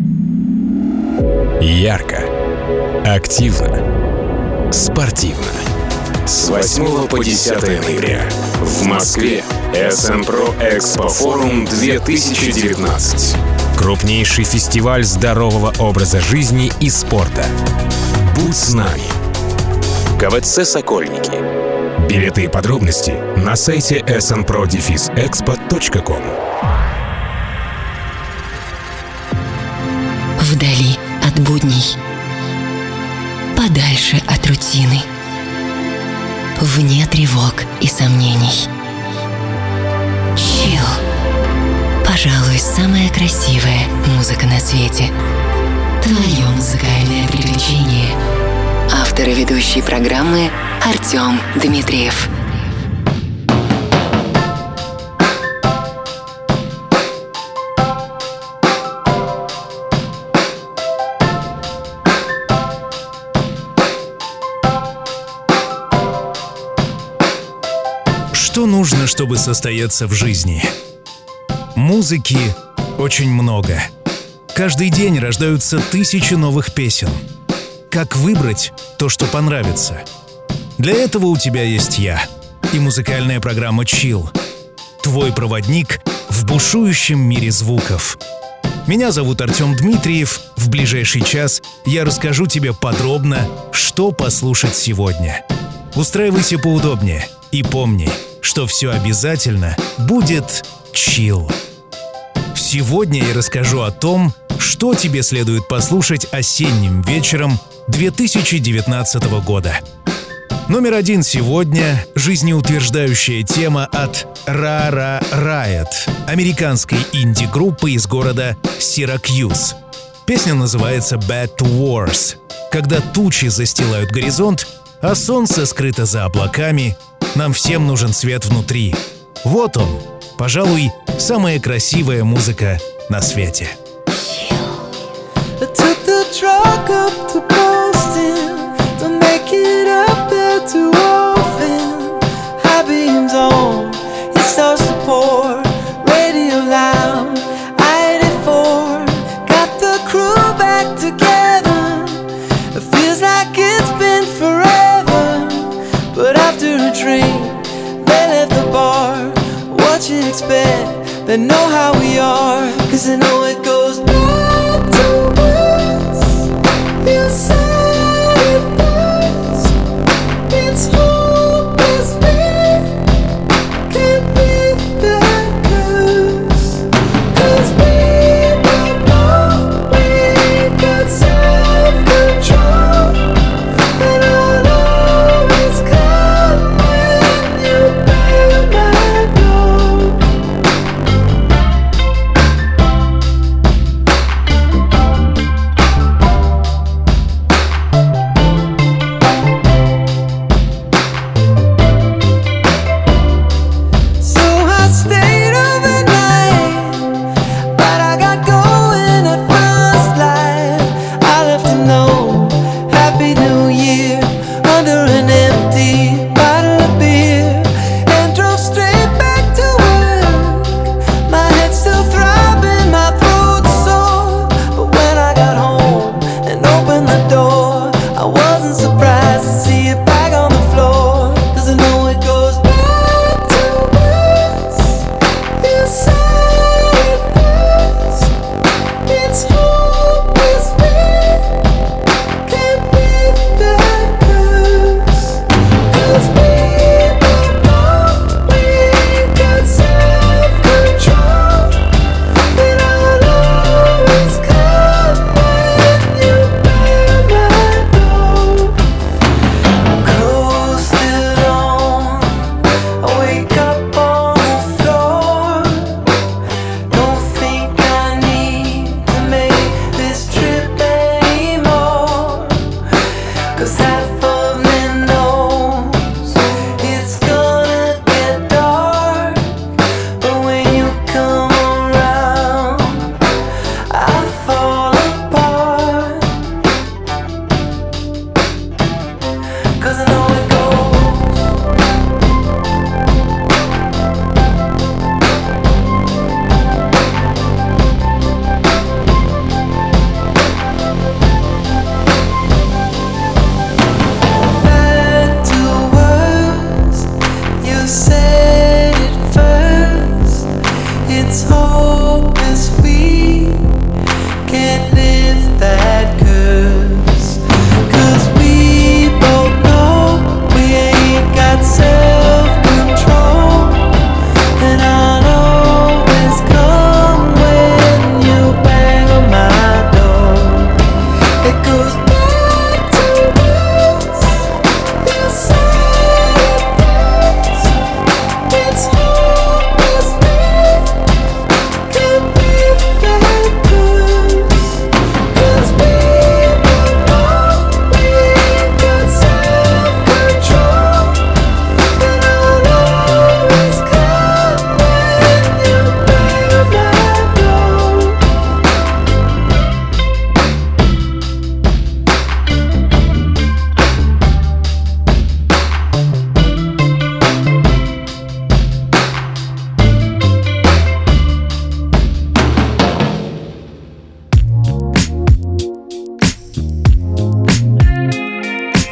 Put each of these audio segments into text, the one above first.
Ярко, активно, спортивно. С 8 по 10 ноября в Москве СНПРО Экспо Форум 2019. Крупнейший фестиваль здорового образа жизни и спорта. Будь с нами. КВЦ «Сокольники». Билеты и подробности на сайте snpro-expo.com. Вдали от будней, подальше от рутины, вне тревог и сомнений. Chill. Пожалуй, самая красивая музыка на свете. Твое музыкальное приключение. Автор и ведущий программы Артем Дмитриев. Что нужно, чтобы состояться в жизни? Музыки очень много. Каждый день рождаются тысячи новых песен. Как выбрать то, что понравится? Для этого у тебя есть я и музыкальная программа Chill. Твой проводник в бушующем мире звуков. Меня зовут Артем Дмитриев. В ближайший час я расскажу тебе подробно, что послушать сегодня. Устраивайся поудобнее и помни, что все обязательно будет chill. Сегодня я расскажу о том, что тебе следует послушать осенним вечером 2019 года. Номер 1 сегодня — жизнеутверждающая тема от Rara Riot, американской инди-группы из города Сиракьюз. Песня называется Bad Wars. Когда тучи застилают горизонт, а солнце скрыто за облаками, нам всем нужен свет внутри. Вот он, пожалуй, самая красивая музыка на свете. They know how we are, 'cause they know it goes back to us. You said it first. It's hopeless, we can't live like us. 'Cause we don't know we got self-control. And I'll always come when you pay my door.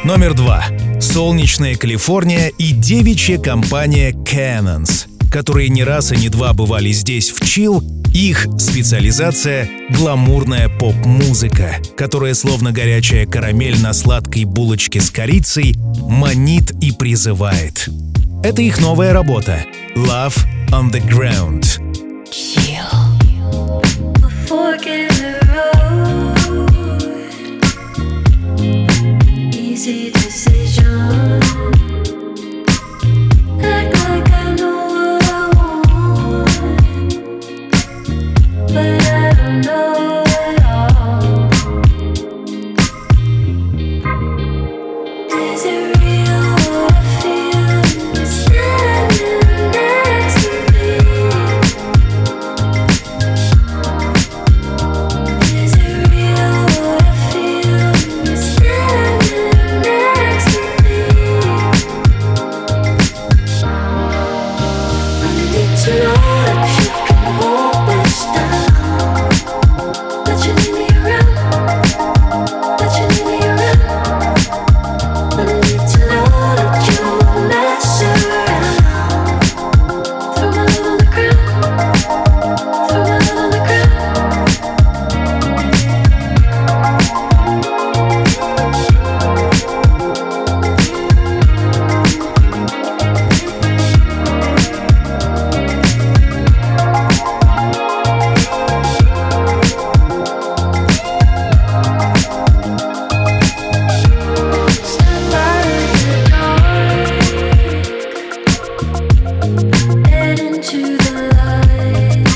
Номер 2. Солнечная Калифорния и девичья компания Cannons, которые не раз и не два бывали здесь в Chill. Их специализация — гламурная поп-музыка, которая, словно горячая карамель на сладкой булочке с корицей, манит и призывает. Это их новая работа «Love on the Ground». Easy decision. Act like I know what I want, but I don't know it all. Is it real what I feel standing next to me? Is it real what I feel standing next to me? I need to know that you can hold this down, that you need me around, that you need me around. I need to know that you won't mess around. Throw my love on the ground, throw my love on the ground. Stand by in the dark, head into the light.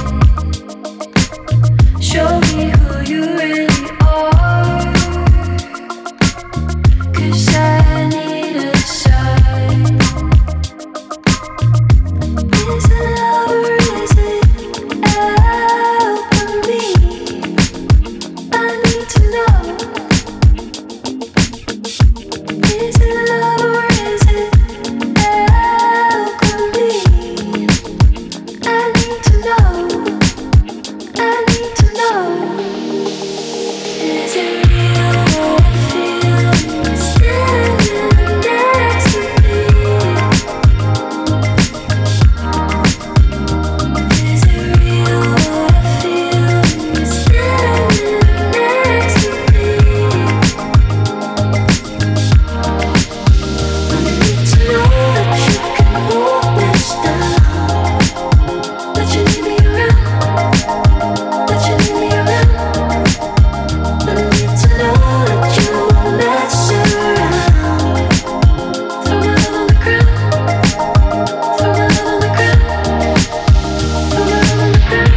Show me who you really are, 'cause I need a sign. Is it love or is it alchemy? I need to know. Is it love or is it alchemy? I need to know. I need to know. Is it real what I feel standing next to me? Is it real what I feel standing next to me? I need to know that you can hold this down, that you need me around, that you need me around. I need to know that you won't mess around. Throw my love on the ground, throw my love on the ground, throw my love on the ground.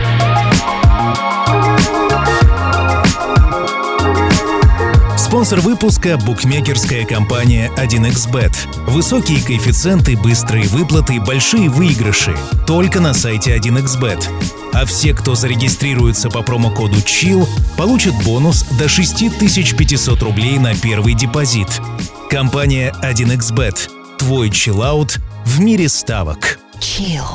Спонсор выпуска — букмекерская компания 1xBet. Высокие коэффициенты, быстрые выплаты, большие выигрыши. Только на сайте 1xBet. А все, кто зарегистрируется по промокоду CHILL, получат бонус до 6500 рублей на первый депозит. Компания 1xBet. Твой чиллаут в мире ставок. Chill.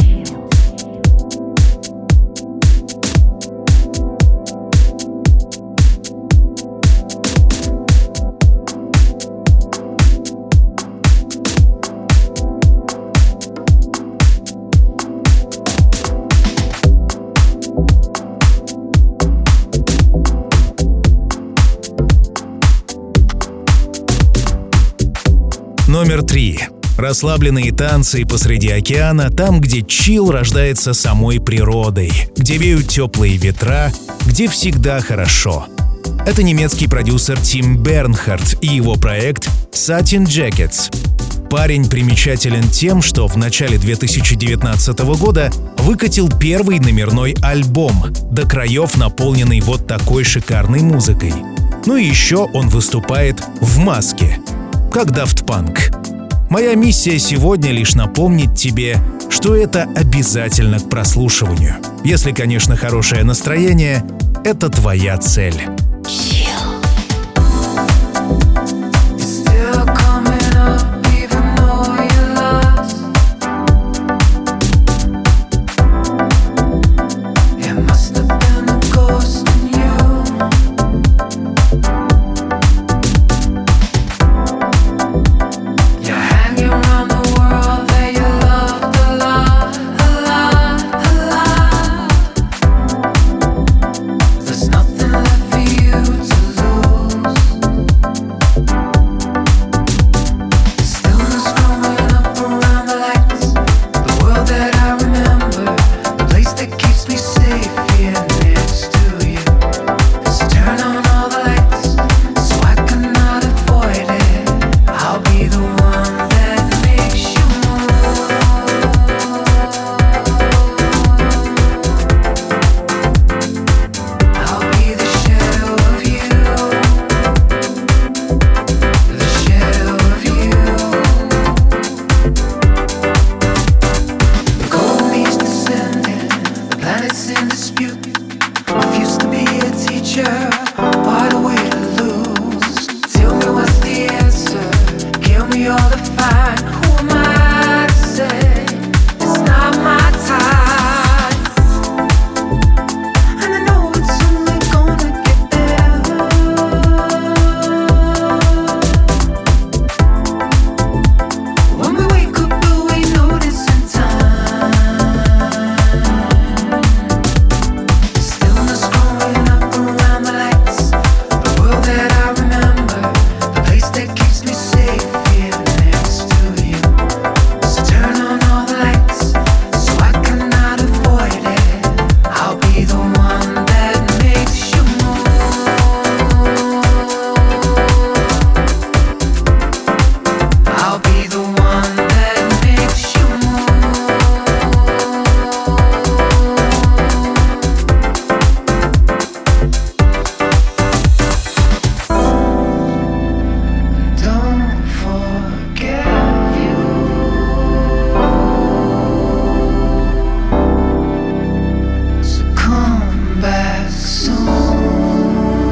Номер 3. Расслабленные танцы посреди океана, там, где чилл рождается самой природой, где веют теплые ветра, где всегда хорошо. Это немецкий продюсер Тим Бернхард и его проект Satin Jackets. Парень примечателен тем, что в начале 2019 года выкатил первый номерной альбом, до краев наполненный вот такой шикарной музыкой. Ну и еще он выступает в маске, как Daft Punk. Моя миссия сегодня лишь напомнить тебе, что это обязательно к прослушиванию. Если, конечно, хорошее настроение — это твоя цель. teacher, what a way to lose. Tell me what's the answer, give me all the fine. Who am I to say it's not my time? And I know it's only gonna get better. When we wake up, will we notice in time? Stillness growing up around the lights, the world that I remember, the place that keeps me safe here next to you. So turn on all the lights, so I cannot avoid it. I'll be the one that makes you move. I'll be the one that makes you move. Don't forget you. So come back soon.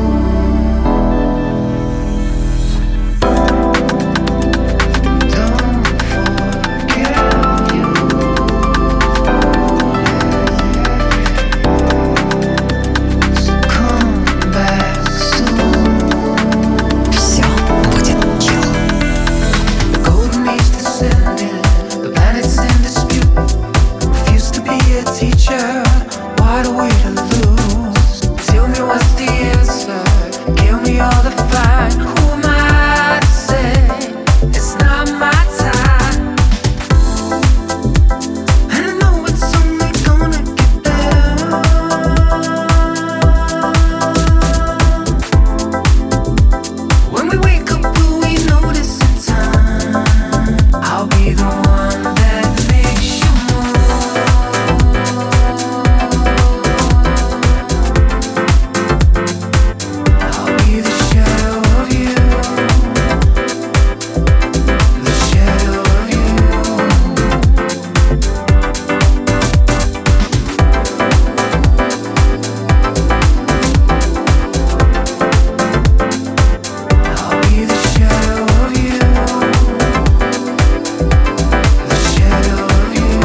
Don't forget you. So come back soon. Все будет chill. The golden age descended, the planet's in dispute. Refuse to be a teacher, what a way to lose. Tell me what's the answer, give me all the fine. Who am I to say it's not my time? And I know it's only gonna get better. When we wake up, will we notice in time? I'll be the one that makes you move. I'll be the shadow of you, the shadow of you. I'll be the shadow of you, the shadow of you.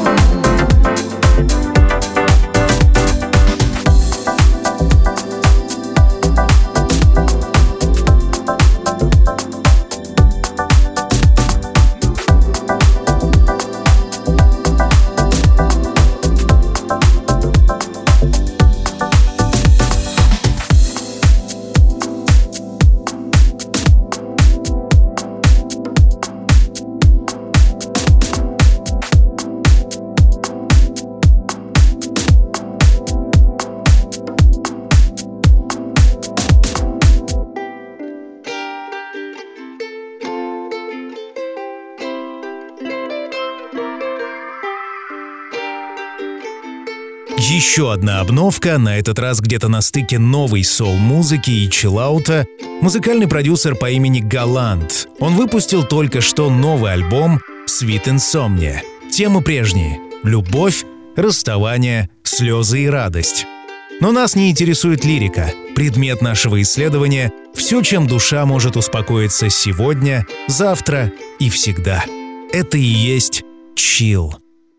Еще одна обновка, на этот раз где-то на стыке новой соул-музыки и чиллаута, музыкальный продюсер по имени Галант. Он выпустил только что новый альбом «Sweet Insomnia». Темы прежние — любовь, расставание, слезы и радость. Но нас не интересует лирика. Предмет нашего исследования — все, чем душа может успокоиться сегодня, завтра и всегда. Это и есть чилл.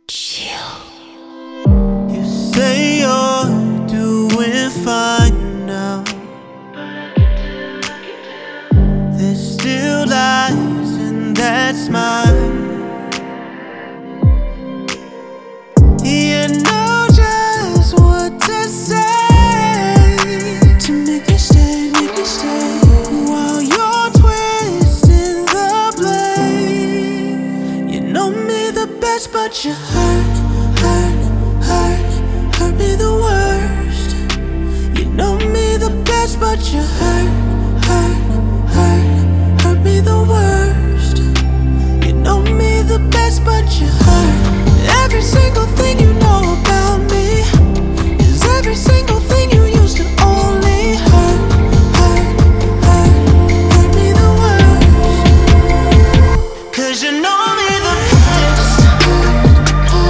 You say you're doing fine now. There's still lies in that smile. You know just what to say to make me stay, while you're twisting the blade. You know me the best, but you hurt me the worst. You know me the best, but you hurt me the worst. You know me the best, but you hurt. Every single thing you know about me is every single thing you used to only hurt me the worst. 'Cause you know me the best.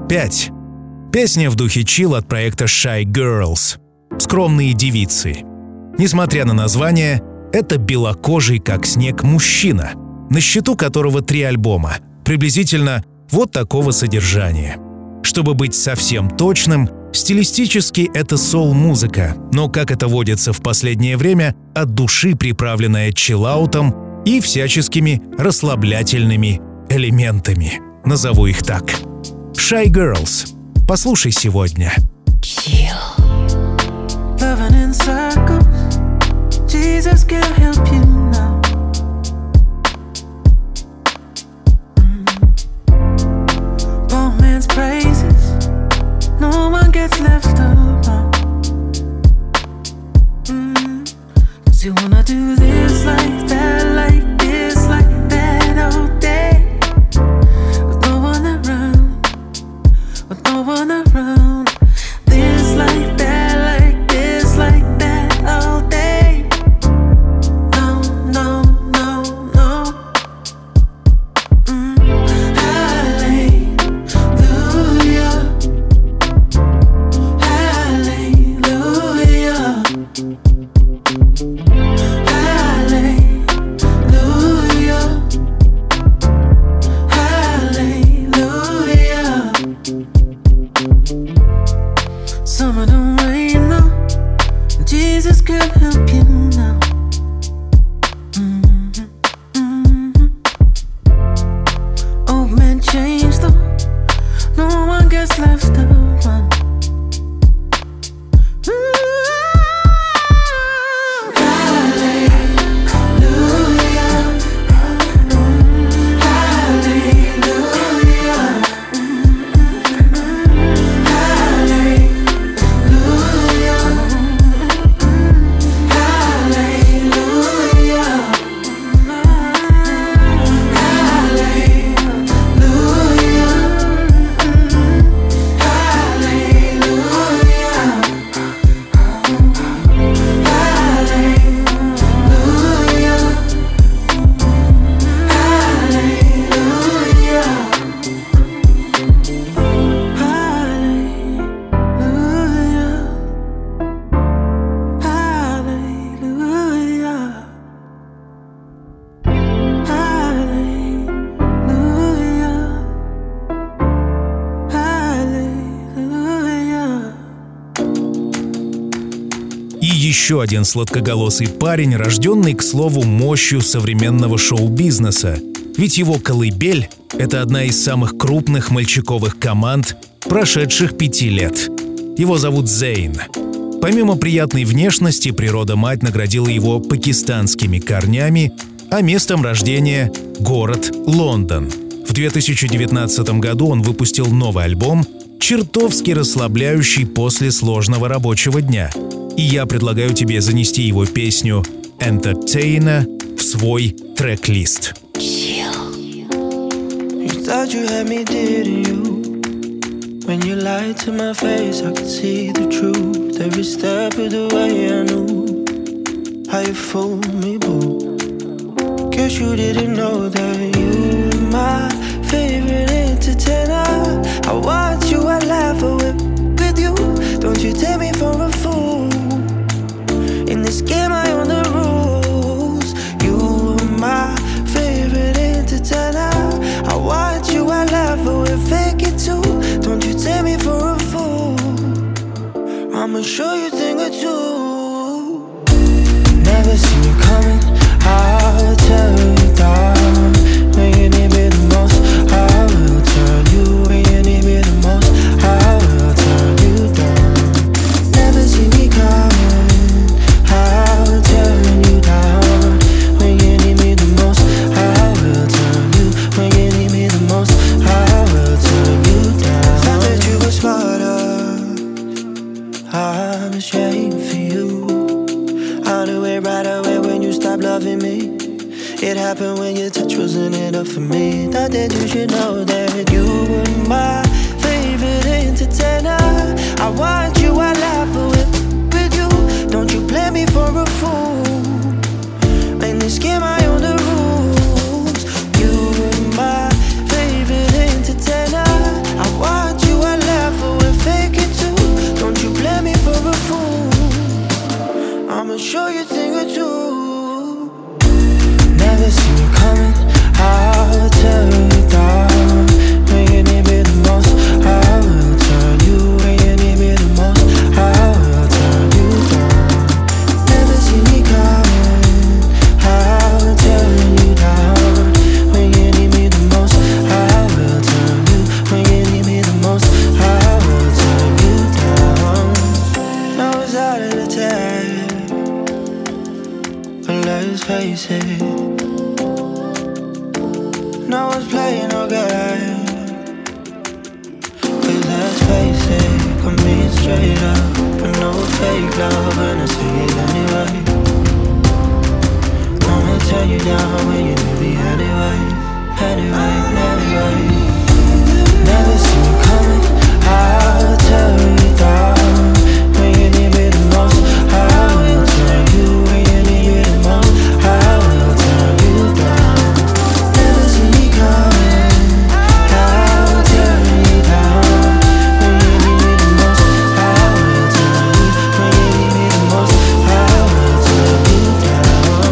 5. Песня в духе чилл от проекта Shy Girls. Скромные девицы. Несмотря на название, это белокожий как снег мужчина, на счету которого 3 альбома, приблизительно вот такого содержания. Чтобы быть совсем точным, стилистически это соул-музыка, но, как это водится в последнее время, от души приправленная чиллаутом и всяческими расслаблятельными элементами. Назову их так. Shy Girls. Послушай сегодня. Loving in circles, Jesus can't help you now. Poor man's praises, no one gets left around. 'Cause you wanna do this like that, like this, like that all day, with no one around, with no one around. This like that, like this, like that all day. No, no, no, no. Hallelujah, hallelujah, hallelujah, hallelujah. Summer don't rain now, Jesus can help you now. Old man changed though, no one gets left around. Еще один сладкоголосый парень, рожденный, к слову, мощью современного шоу-бизнеса. Ведь его «Колыбель» — это одна из самых крупных мальчиковых команд прошедших 5 лет. Его зовут Зейн. Помимо приятной внешности, природа-мать наградила его пакистанскими корнями, а местом рождения — город Лондон. В 2019 году он выпустил новый альбом, чертовски расслабляющий после сложного рабочего дня. И я предлагаю тебе занести его песню «Entertainer» в свой трек-лист. You thought you had me, didn't you? When you lied to my face, I could see the truth. Every step of the way I knew how you fooled me, boo. Guess you didn't know that you were my favorite entertainer. I watch you, I laugh, I whip with you. Don't you take me for a fool. In this game I own the rules. You were my favorite entertainer. I watch you, I laugh, I whip fake it too. Don't you take me for a fool. I'ma show you a thing or two. Never seen you coming, I'll tell you down. When you need me the most, I will turn you. When you need me the most, I will turn you down. Never see me coming, I'll turn you down. When you need me the most, I will turn you. When you need me the most, I will turn you down. Thought that you were smarter, I'm ashamed for you. I knew it right away when you stopped loving me. It happened when your touch wasn't enough for me. Thought that you should know that you were my favorite entertainer. I watch you, I laugh with you. Don't you play me for a fool. In this game I own the rules. You were my favorite entertainer. I watch you, I no one's playing no game. 'Cause let's face it, I'm being straight up, but no fake love, and I see it anyway. I'ma turn you down when you need me anyway. Never see me coming, I'll turn you down when you need me the most. I will turn you when you need me the most. I will turn you down. Never see me coming, I'll turn you down when you need me the most. I will turn you when you need me the most. I will turn you down.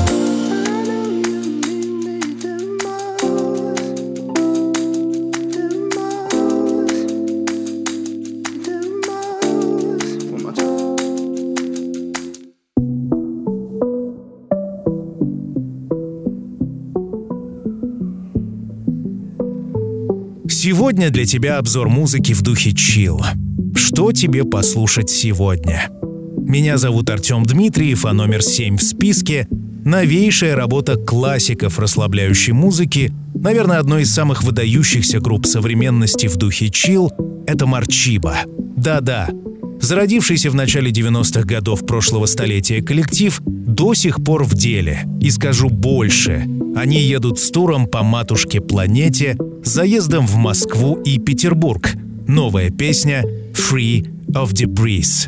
Сегодня для тебя обзор музыки в духе чилл. Что тебе послушать сегодня? Меня зовут Артем Дмитриев, а номер 7 в списке — новейшая работа классиков расслабляющей музыки, наверное, одной из самых выдающихся групп современности в духе чилл — это Марчибо. Да-да, зародившийся в начале 90-х годов прошлого столетия коллектив до сих пор в деле. И скажу больше, они едут с туром по матушке-планете, с заездом в Москву и Петербург. Новая песня «Free of the Breeze».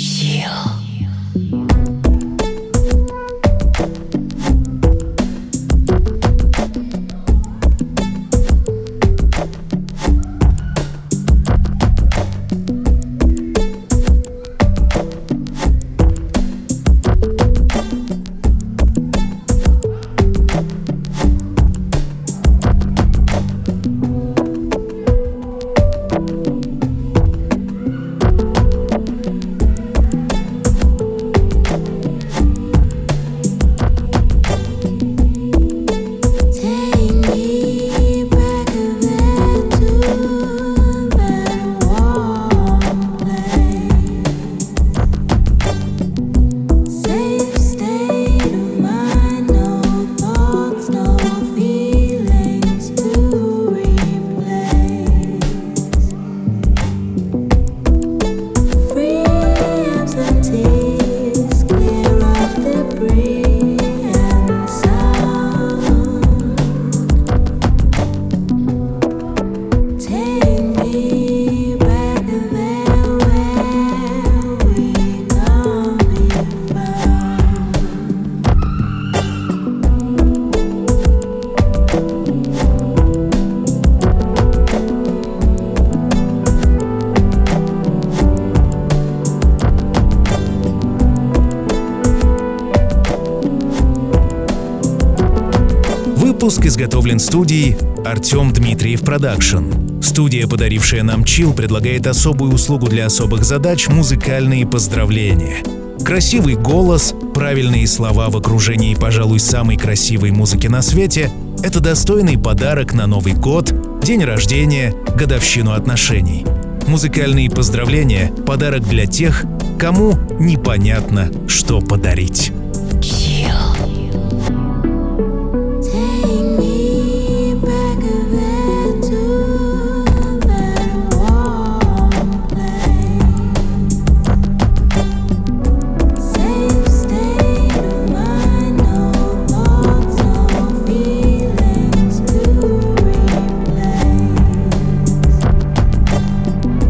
Выпуск изготовлен студией Артем Дмитриев Продакшн. Студия, подарившая нам чилл, предлагает особую услугу для особых задач — музыкальные поздравления. Красивый голос, правильные слова в окружении, пожалуй, самой красивой музыки на свете — это достойный подарок на Новый год, день рождения, годовщину отношений. Музыкальные поздравления — подарок для тех, кому непонятно, что подарить.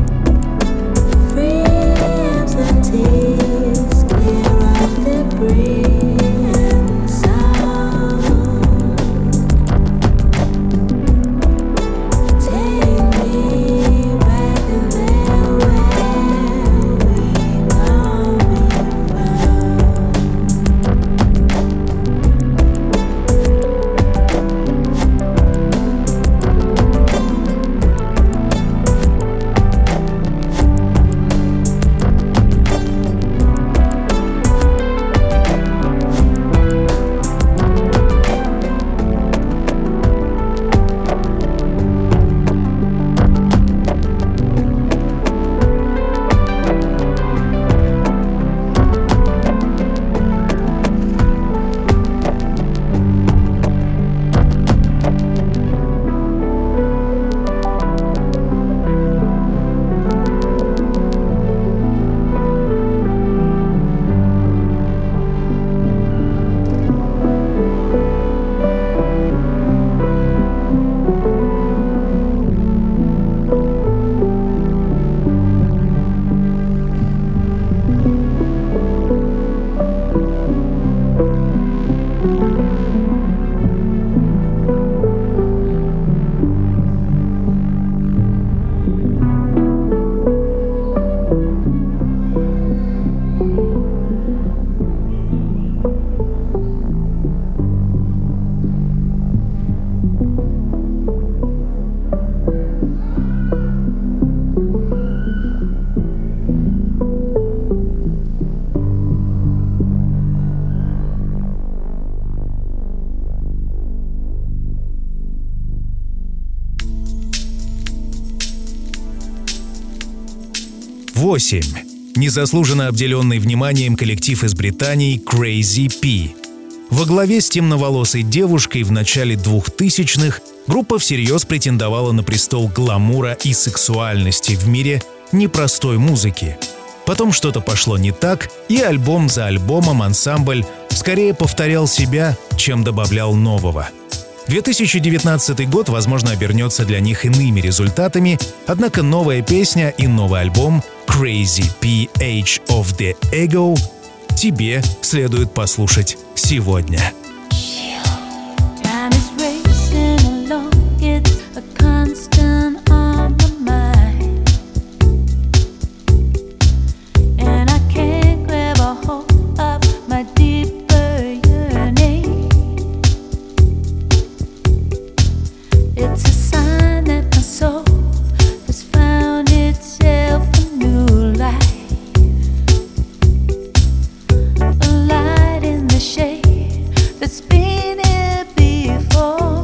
Free as the tears, clear of the breeze. 8. Незаслуженно обделенный вниманием коллектив из Британии Crazy P. Во главе с темноволосой девушкой в начале 2000-х группа всерьез претендовала на престол гламура и сексуальности в мире непростой музыки. Потом что-то пошло не так, и альбом за альбомом ансамбль скорее повторял себя, чем добавлял нового. 2019 год, возможно, обернется для них иными результатами, однако новая песня и новый альбом Crazy P Age of the Ego тебе следует послушать сегодня. Time is racing along, it's a constant on my mind, and I can't grab a hold of my deeper yearning. It's a sign that my soul has found itself a new life. A light in the shade that's been here before.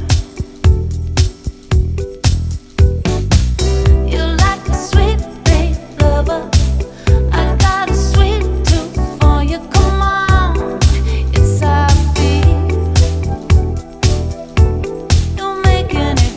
You're like a sweet babe lover. I got a sweet tooth for you. Come on, it's how I feel. You're making it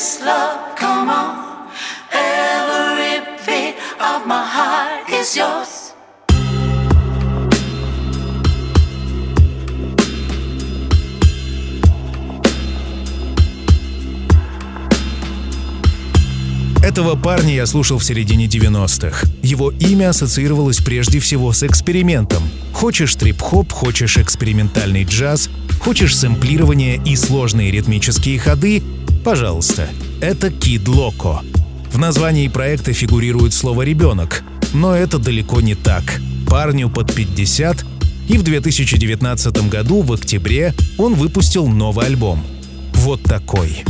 this love, come on. Every beat of my heart is yours. Этого парня я слушал в середине 90-х. Его имя ассоциировалось прежде всего с экспериментом. Хочешь трип-хоп, хочешь экспериментальный джаз, хочешь сэмплирование и сложные ритмические ходы — пожалуйста, это Kid Loco. В названии проекта фигурирует слово «ребенок», но это далеко не так. Парню под 50, и в 2019 году, в октябре, он выпустил новый альбом. Вот такой.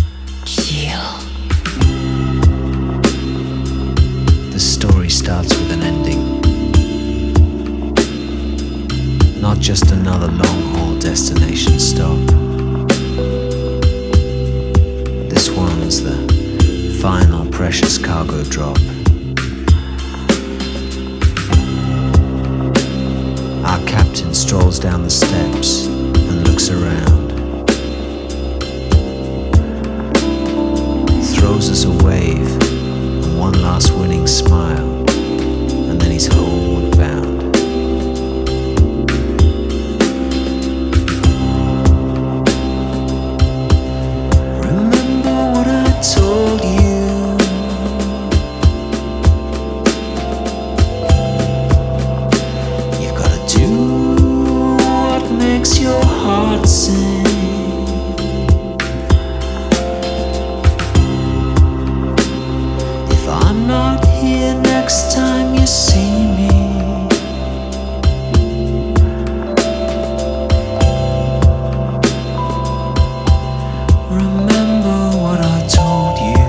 The story starts with an ending. Not just another long-haul destination stop. This one's the final precious cargo drop. Our captain strolls down the steps and looks around. Throws us a wave. One last winning smile, and then he's homeward bound. Remember what I told you. You've gotta do what makes your heart sing. I'm not here next time you see me. Remember what I told you.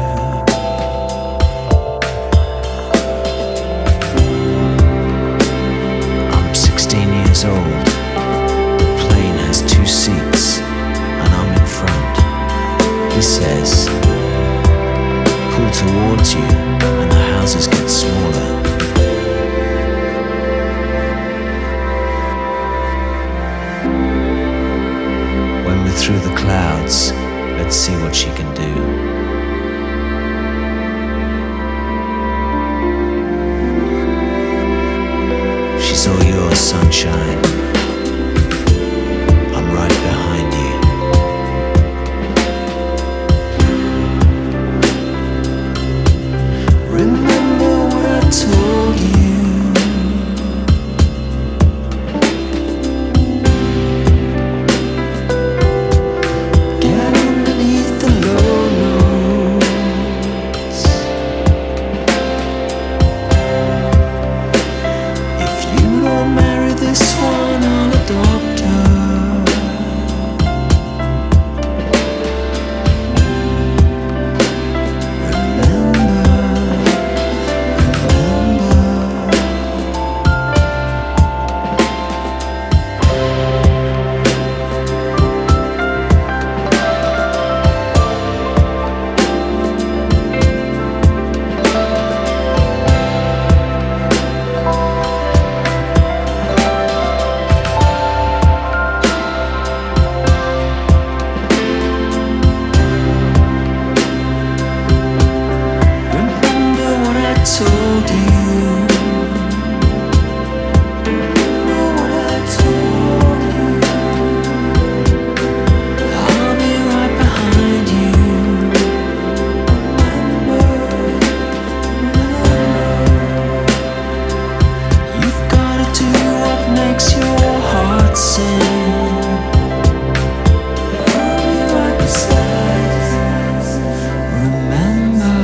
I'm 16 years old. The plane has 2 seats, and I'm in front. He says, pull towards you, and the houses get smaller. When we're through the clouds, let's see what she can do. She's all yours, sunshine. I'm right behind you. Remember what I told you. Get underneath the low notes. If you don't marry this one, I'll adopt her. Told you. Remember what I told you. I'll be right behind you. Remember. You've gotta do what makes your heart sing. I'll be right beside you. Remember.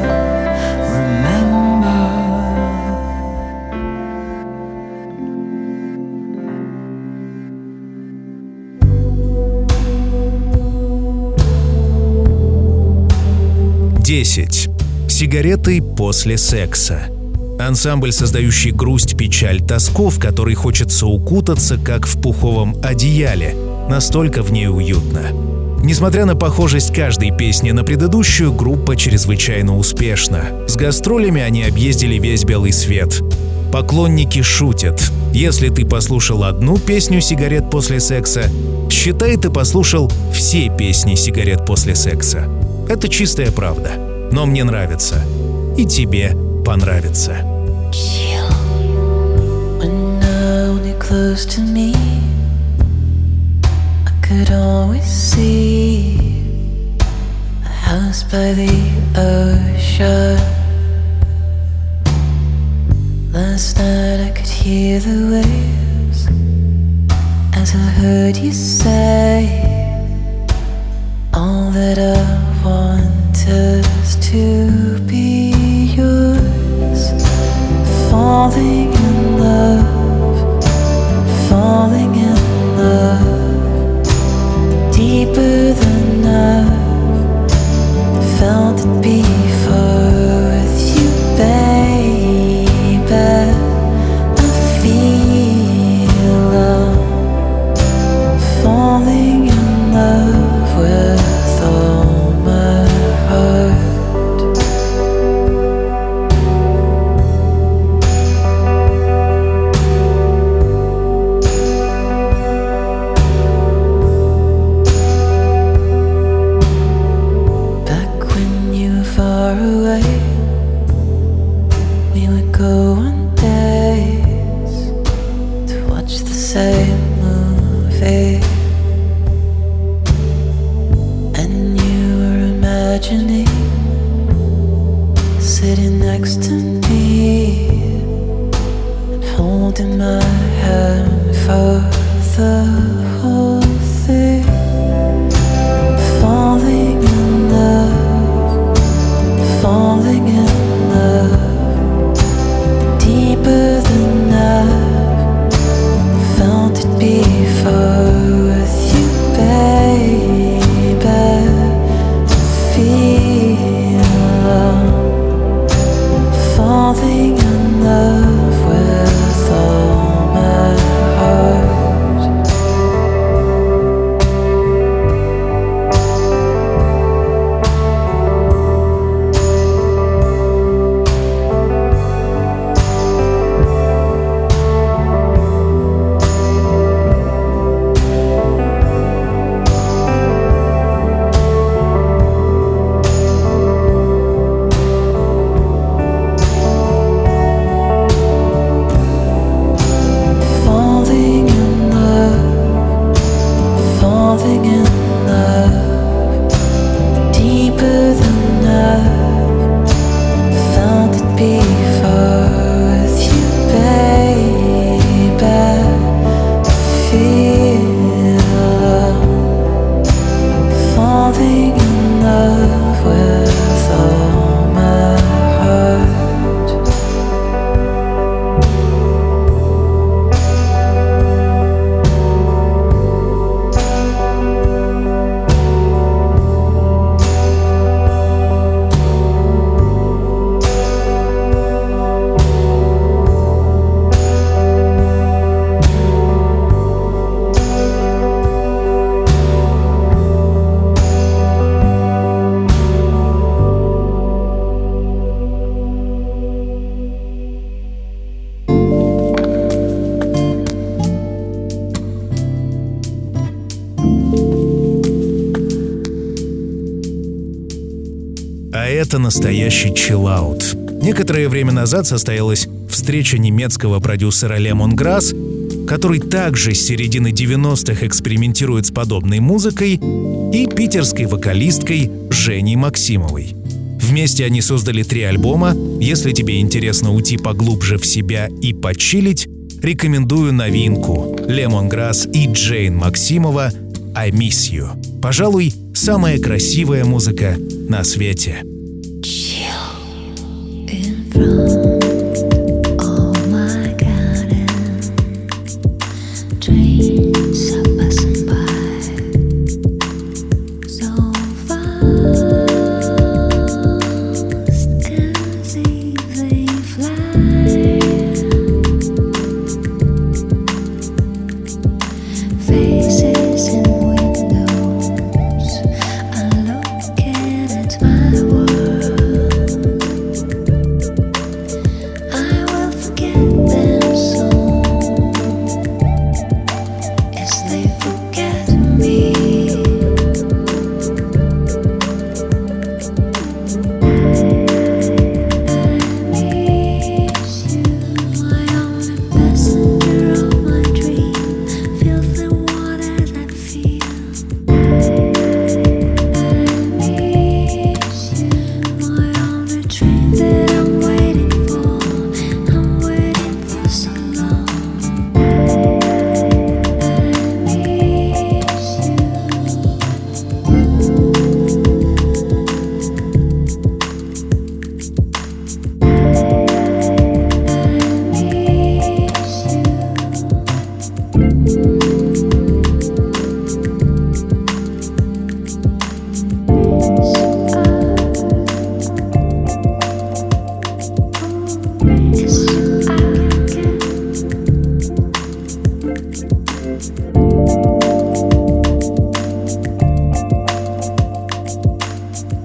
Десять. Сигареты после секса. Ансамбль, создающий грусть, печаль, тоску, в который хочется укутаться, как в пуховом одеяле. Настолько в ней уютно. Несмотря на похожесть каждой песни на предыдущую, группа чрезвычайно успешна. С гастролями они объездили весь белый свет. Поклонники шутят. Если ты послушал одну песню «Сигарет после секса», считай, ты послушал все песни «Сигарет после секса». Это чистая правда. Но мне нравится. И тебе понравится. When now you're close to me, I could always see a house by the ocean. Last night I could hear the waves as I heard you say all that I want is to be yours. Falling in love, falling in love, deeper than I've felt it before with you, baby. I feel I'm falling in love with all my heart. Sitting next to me and holding my hand for the whole thing. Falling in love, falling in love, deeper than I've felt it before with you, baby. Falling in love with all my heart. Это настоящий чиллаут. Некоторое время назад состоялась встреча немецкого продюсера Lemongrass, который также с середины 90-х экспериментирует с подобной музыкой, и питерской вокалисткой Женей Максимовой. Вместе они создали 3 альбома. Если тебе интересно уйти поглубже в себя и почилить, рекомендую новинку Lemongrass и Джейн Максимова «I Miss You». Пожалуй, самая красивая музыка на свете.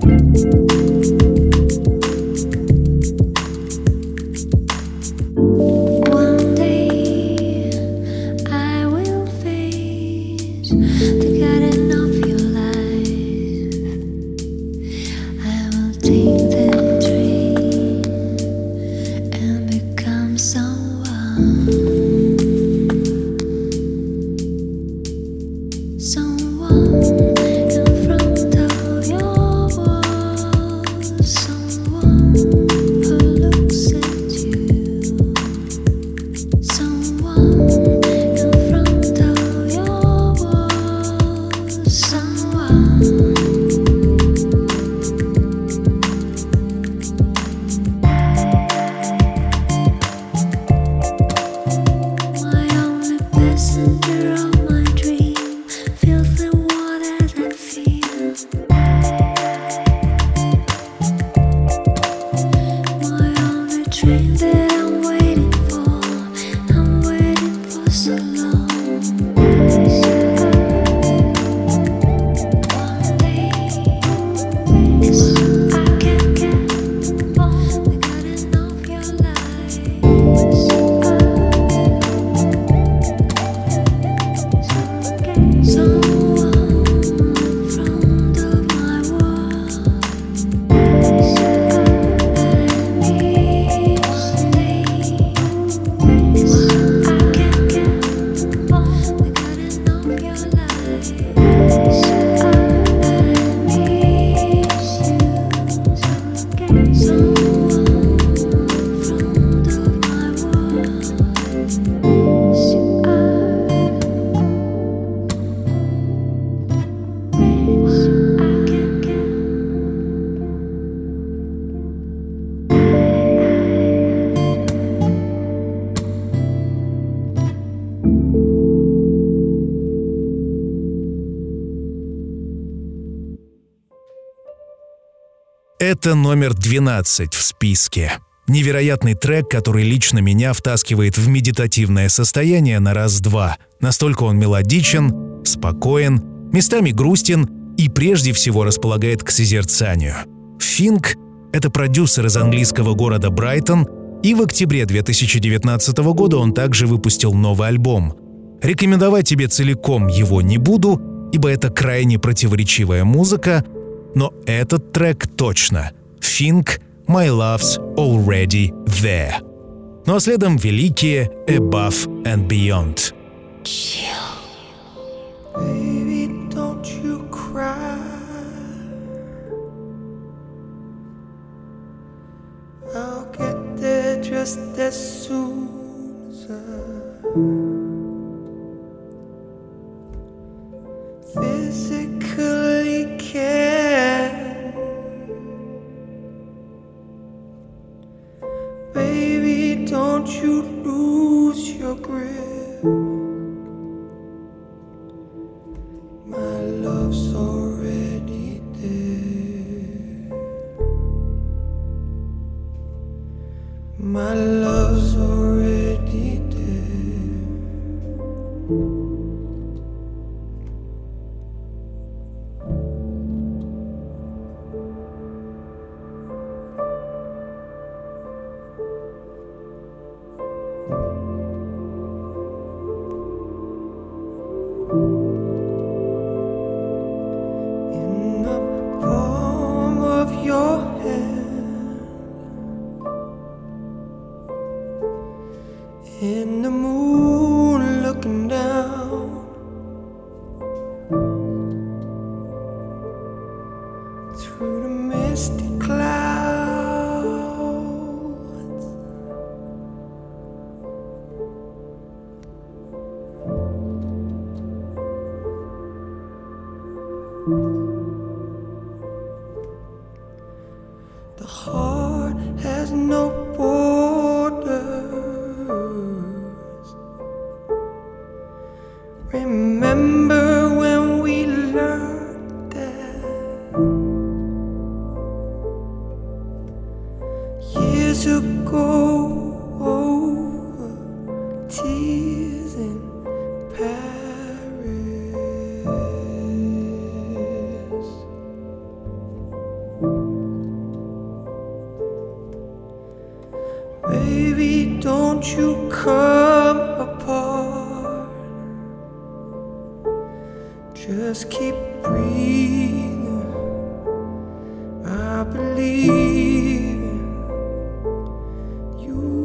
One day I will face the garden of your life. I will take the train and become someone in front of your world, someone who looks at you, someone in front of your world, someone. My only passenger of my dream feels the water that feels. My only dream that I'm waiting for so long. One day, I can't get on the garden of your life. Someone in front of my world. I miss I can't get on the garden of your life. I miss you. Someone in front of my world. Это номер 12 в списке. Невероятный трек, который лично меня втаскивает в медитативное состояние на раз-два. Настолько он мелодичен, спокоен, местами грустен и прежде всего располагает к созерцанию. Финк — это продюсер из английского города Брайтон, и в октябре 2019 года он также выпустил новый альбом. Рекомендовать тебе целиком его не буду, ибо это крайне противоречивая музыка, но этот трек точно. Финк «My Love's Already There». Ну а следом великие «Above and Beyond». Baby, don't you cry. I'll get there just as soon as I physically can. Baby, don't you lose your grip. My love's already there. My love's already there. In the palm of your hand, in the moon looking down through the misty clouds. The heart has no borders. Remember when we learned that years ago, over tears in Paris. don't you come apart. Just keep breathing. I believe in you.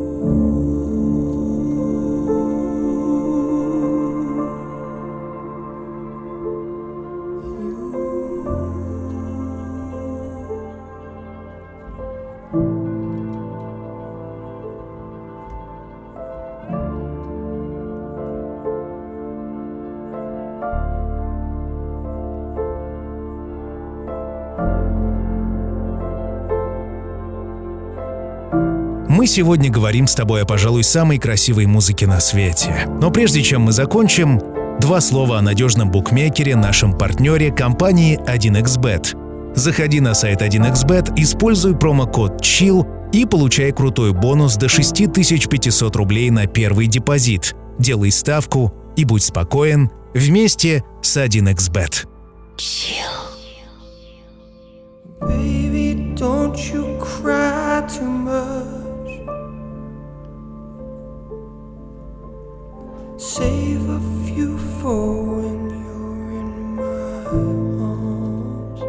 Мы сегодня говорим с тобой о, пожалуй, самой красивой музыке на свете. Но прежде чем мы закончим, два слова о надежном букмекере, нашем партнере, компании 1xBet. Заходи на сайт 1xBet, используй промокод CHILL и получай крутой бонус до 6500 рублей на первый депозит. Делай ставку и будь спокоен вместе с 1xBet. Baby, don't you cry too much. Save a few for when you're in my arms.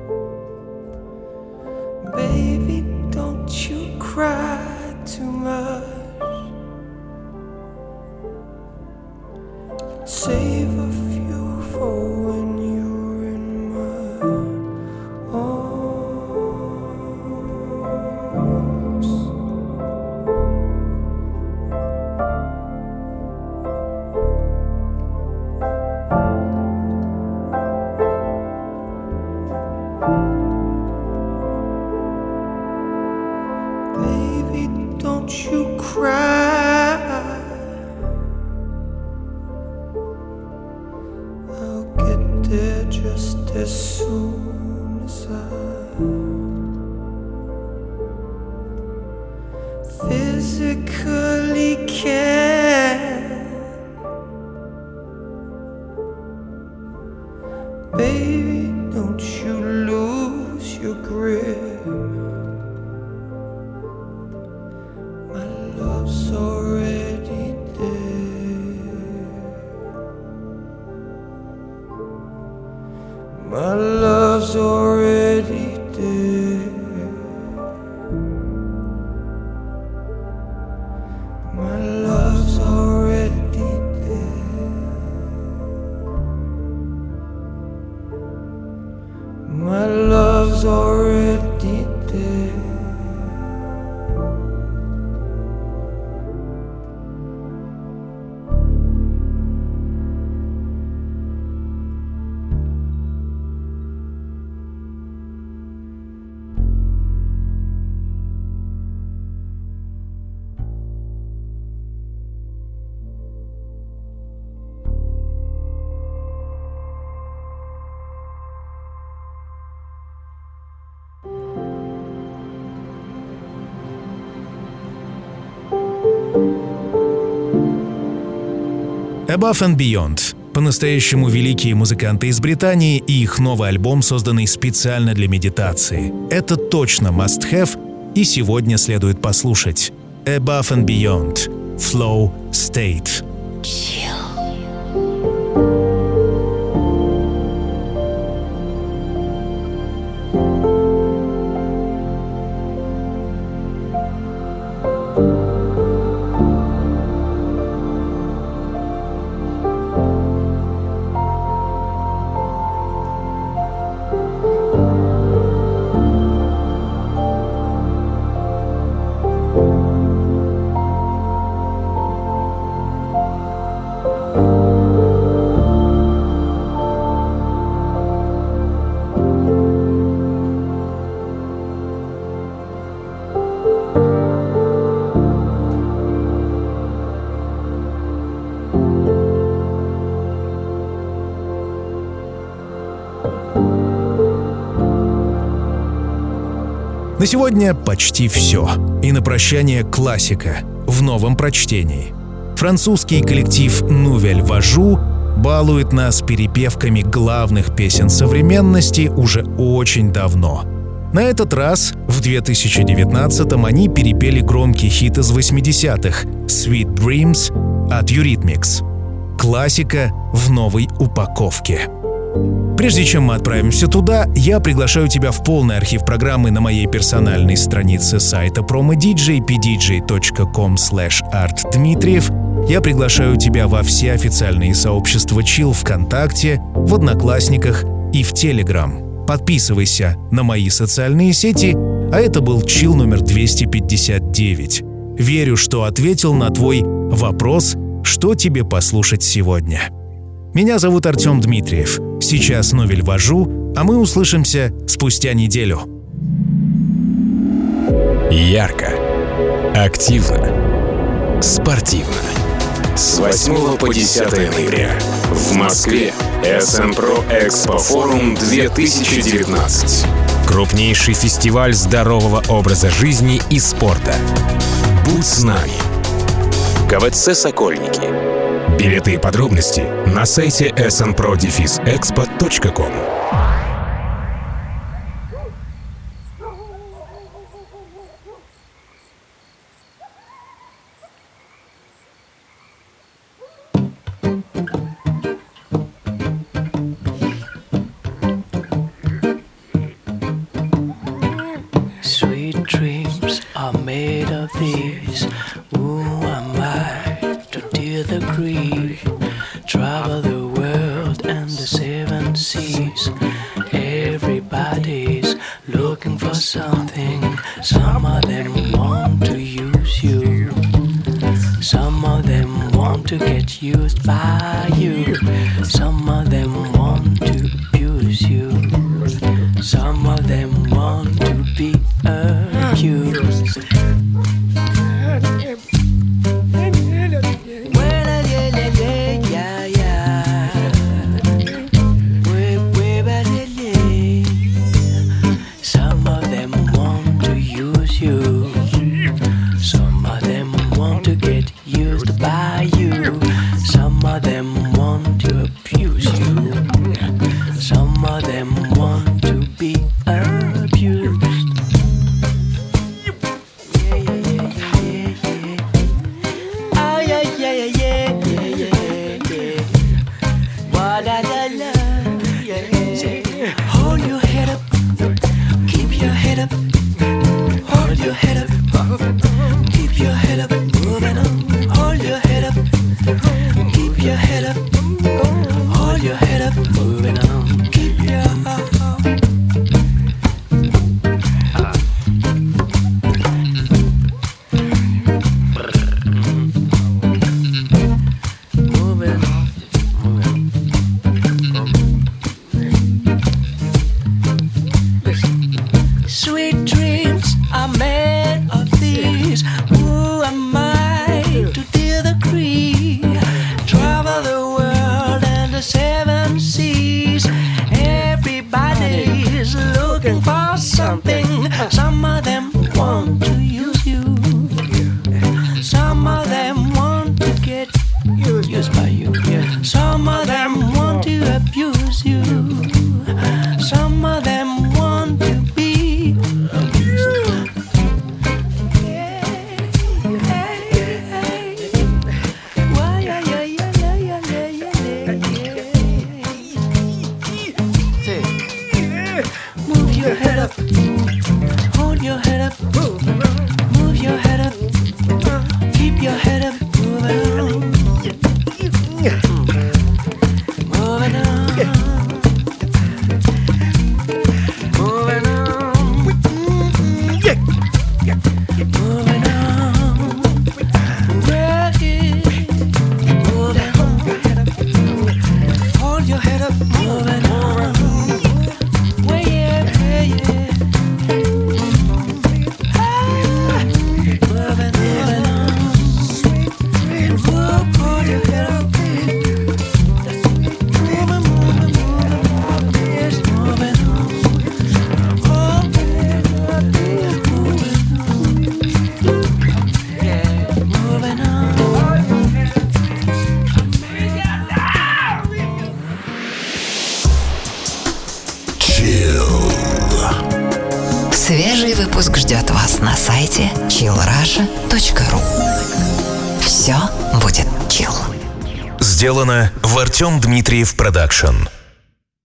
Baby, don't you cry too much. Save a few for when you're in my arms. Baby, don't you cry. I'll get there just as soon as I physically can. Baby, don't you lose your grip. My love's already there. My love's already there. My love's already there. My love's already there. Above and Beyond. По-настоящему великие музыканты из Британии и их новый альбом, созданный специально для медитации. Это точно must-have, и сегодня следует послушать. Above and Beyond. Flow State. На сегодня почти все. И на прощание классика в новом прочтении. Французский коллектив Nouvelle Vague балует нас перепевками главных песен современности уже очень давно. На этот раз, в 2019-м, они перепели громкий хит из 80-х «Sweet Dreams» от Eurythmics. Классика в новой упаковке. Прежде чем мы отправимся туда, я приглашаю тебя в полный архив программы на моей персональной странице сайта promodj pdj.com/artdmitriev. Я приглашаю тебя во все официальные сообщества Chill ВКонтакте, в Одноклассниках и в Telegram. Подписывайся на мои социальные сети, а это был Chill номер 259. Верю, что ответил на твой вопрос, что тебе послушать сегодня. Меня зовут Артем Дмитриев. Сейчас Новель вожу, а мы услышимся спустя неделю. Ярко, активно, спортивно. С 8 по 10 ноября в Москве СНПРО Экспо Форум 2019. Крупнейший фестиваль здорового образа жизни и спорта. Будь с нами. КВЦ «Сокольники». Билеты и подробности на сайте snpro-expo.com. Sweet dreams are made of these. Who am I to dear the grief? Travel the world and the seven seas. Everybody's looking for something. Some of them want to use you. Some of them want to get used by you. Some of them want to abuse you. Some of them want to be abused. Some of them want to use you. Some of them want to get used by you. Some of them want to abuse you. Some of them want to be abused. Yeah, yeah, yeah, yeah, yeah. Oh, yeah, yeah, yeah, yeah, yeah, yeah. Wa-da-da-da, yeah, yeah. Hold your head up. Keep your head up. Hold your head up. Keep your head up. Moving on. Hold your head up. Keep your head up. Hold your head up. Moving on. Keep your moving on. Sweet dreams are made of these. Who am I to deal the creed? Travel the world and the seven seas. Everybody's looking for something. Some of them want to use you. Some of them want to get used by you. Some of them want to abuse you. Some of them want to be abused. Why, yeah, yeah, yeah, yeah, yeah, yeah, yeah. Move your head up. Hold your head up. Move your head up. Keep your head up. Moving on. Moving on. Moving on. Moving on. Moving on. Hold your head up. Moving on. Way yeah, yeah. Moving on. Hold your head up. Yes, moving on. Moving on. Chill. Свежий выпуск ждет вас на сайте chillrusha.ru. Все будет chill. Сделано в Артем Дмитриев Продакшн.